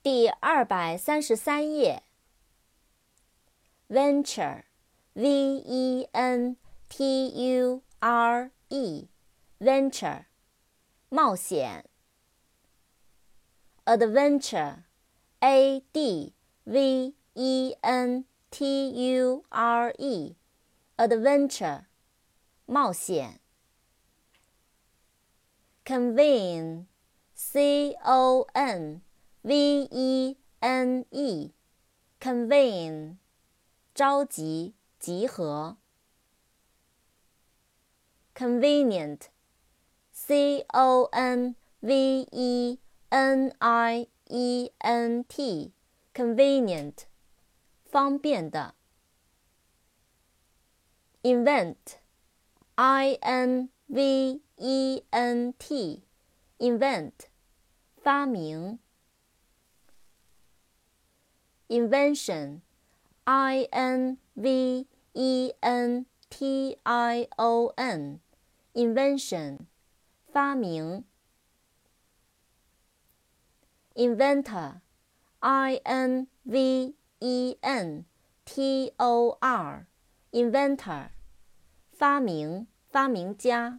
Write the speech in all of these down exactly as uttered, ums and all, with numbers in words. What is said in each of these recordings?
第二百三十三页。Venture, V E N T U R E, Venture, 冒险。Adventure, A D V E N T U R E, Adventure, 冒险。Convene, C O N V E N E, Convene, 召集、集合。Convenient, C O N V E N I E N T, Convenient, 方便的。Invent, I N V E N T, Invent, 发明。Invention, I N V E N T I O N, Invention, 发明。Inventor, I N V E N T O R, Inventor, 发明、发明家。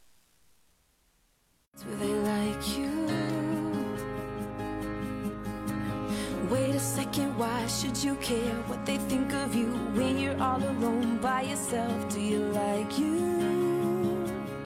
Do they like you? Wait a second, why should you care what they think of you when you're all alone by yourself? Do you like you?